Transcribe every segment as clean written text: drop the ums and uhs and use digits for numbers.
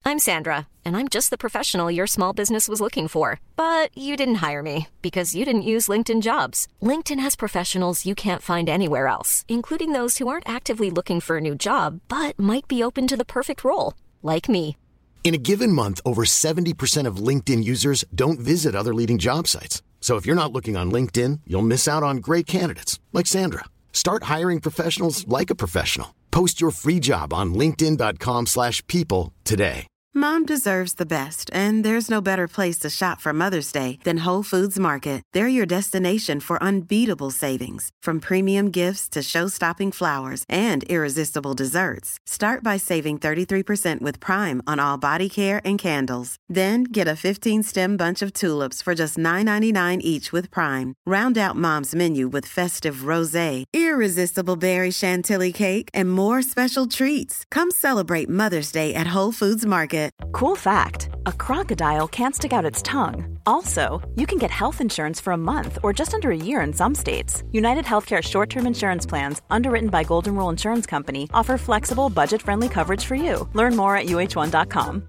I'm Sandra, and I'm just the professional your small business was looking for. But you didn't hire me because you didn't use LinkedIn Jobs. LinkedIn has professionals you can't find anywhere else, including those who aren't actively looking for a new job, but might be open to the perfect role, like me. In a given month, over 70% of LinkedIn users don't visit other leading job sites. So if you're not looking on LinkedIn, you'll miss out on great candidates like Sandra. Start hiring professionals like a professional. Post your free job on linkedin.com/people today. Mom deserves the best, and there's no better place to shop for Mother's Day than Whole Foods Market. They're your destination for unbeatable savings, from premium gifts to show-stopping flowers and irresistible desserts. Start by saving 33% with Prime on all body care and candles. Then get a 15-stem bunch of tulips for just $9.99 each with Prime. Round out Mom's menu with festive rosé, irresistible berry chantilly cake, and more special treats. Come celebrate Mother's Day at Whole Foods Market. Cool fact, a crocodile can't stick out its tongue. Also, you can get health insurance for a month or just under a year in some states. United Healthcare short-term insurance plans, underwritten by Golden Rule Insurance Company, offer flexible, budget-friendly coverage for you. Learn more at uh1.com.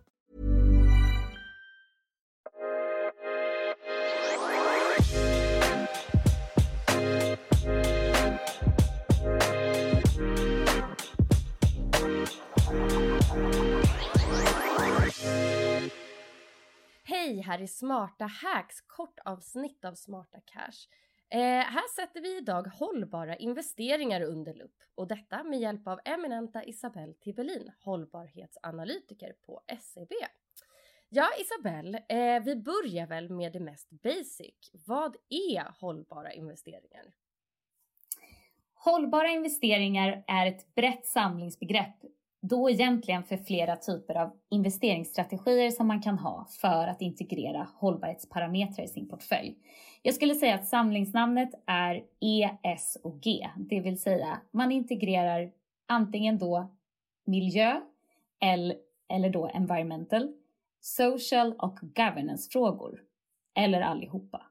Hej, här är Smarta Hacks, kort avsnitt av Smarta Cash. Här sätter vi idag hållbara investeringar under lupp, och detta med hjälp av eminenta Isabelle Tibellin, hållbarhetsanalytiker på SEB. Ja, Isabelle, vi börjar väl med det mest basic. Vad är hållbara investeringar? Hållbara investeringar är ett brett samlingsbegrepp, då egentligen för flera typer av investeringsstrategier som man kan ha för att integrera hållbarhetsparametrar i sin portfölj. Jag skulle säga att samlingsnamnet är ESG, det vill säga man integrerar antingen då miljö eller då environmental, social och governance-frågor, eller allihopa.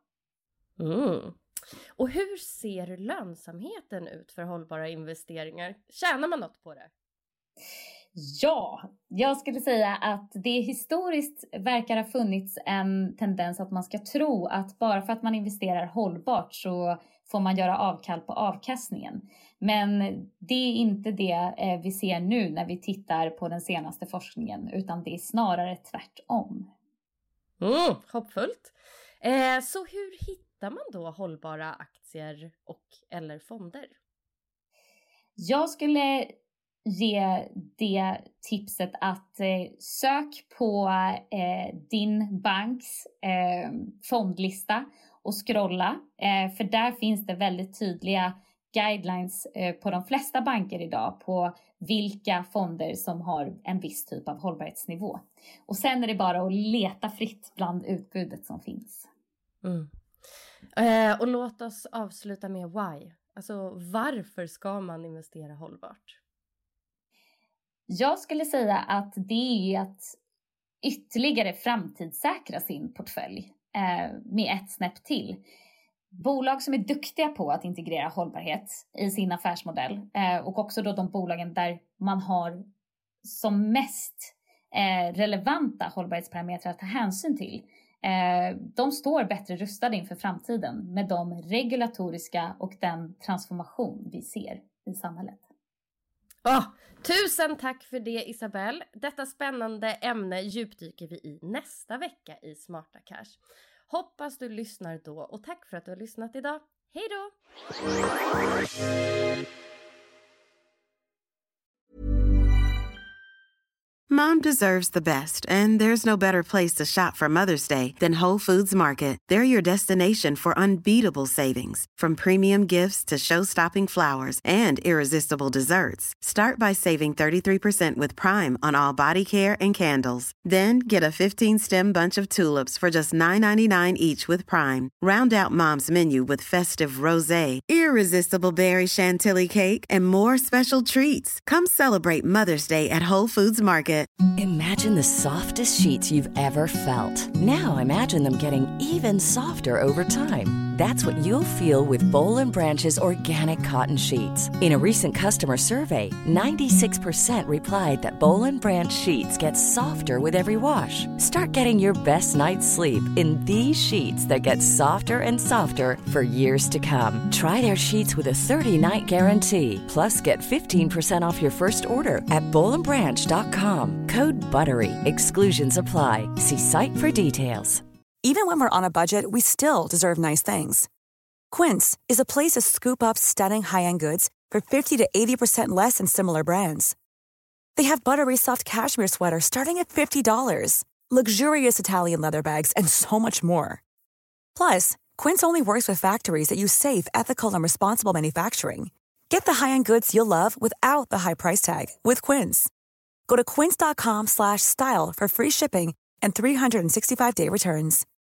Och hur ser lönsamheten ut för hållbara investeringar? Tjänar man något på det? Ja, jag skulle säga att det historiskt verkar ha funnits en tendens att man ska tro att bara för att man investerar hållbart så får man göra avkall på avkastningen. Men det är inte det vi ser nu när vi tittar på den senaste forskningen, utan det är snarare tvärtom. Hoppfullt. Så hur hittar man då hållbara aktier och eller fonder? Jag skulle ge det tipset att sök på din banks fondlista och scrolla. För där finns det väldigt tydliga guidelines på de flesta banker idag på vilka fonder som har en viss typ av hållbarhetsnivå. Och sen är det bara att leta fritt bland utbudet som finns. Och låt oss avsluta med why. Alltså varför ska man investera hållbart? Jag skulle säga att det är att ytterligare framtidssäkra sin portfölj med ett snäpp till. Bolag som är duktiga på att integrera hållbarhet i sin affärsmodell och också då de bolagen där man har som mest relevanta hållbarhetsparametrar att ta hänsyn till. De står bättre rustade inför framtiden med de regulatoriska och den transformation vi ser i samhället. Tusen tack för det, Isabelle. Detta spännande ämne djupdyker vi i nästa vecka i Smarta Cash. Hoppas du lyssnar då, och tack för att du har lyssnat idag. Hej då! Mom deserves the best, and there's no better place to shop for Mother's Day than Whole Foods Market. They're your destination for unbeatable savings, from premium gifts to show-stopping flowers and irresistible desserts. Start by saving 33% with Prime on all body care and candles. Then get a 15-stem bunch of tulips for just $9.99 each with Prime. Round out Mom's menu with festive rosé, irresistible berry chantilly cake, and more special treats. Come celebrate Mother's Day at Whole Foods Market. Imagine the softest sheets you've ever felt. Now imagine them getting even softer over time. That's what you'll feel with Bowl and Branch's organic cotton sheets. In a recent customer survey, 96% replied that Bowl and Branch sheets get softer with every wash. Start getting your best night's sleep in these sheets that get softer and softer for years to come. Try their sheets with a 30-night guarantee. Plus, get 15% off your first order at bowlandbranch.com. Code BUTTERY. Exclusions apply. See site for details. Even when we're on a budget, we still deserve nice things. Quince is a place to scoop up stunning high-end goods for 50 to 80% less than similar brands. They have buttery soft cashmere sweaters starting at $50, luxurious Italian leather bags, and so much more. Plus, Quince only works with factories that use safe, ethical, and responsible manufacturing. Get the high-end goods you'll love without the high price tag with Quince. Go to quince.com/style for free shipping and 365-day returns.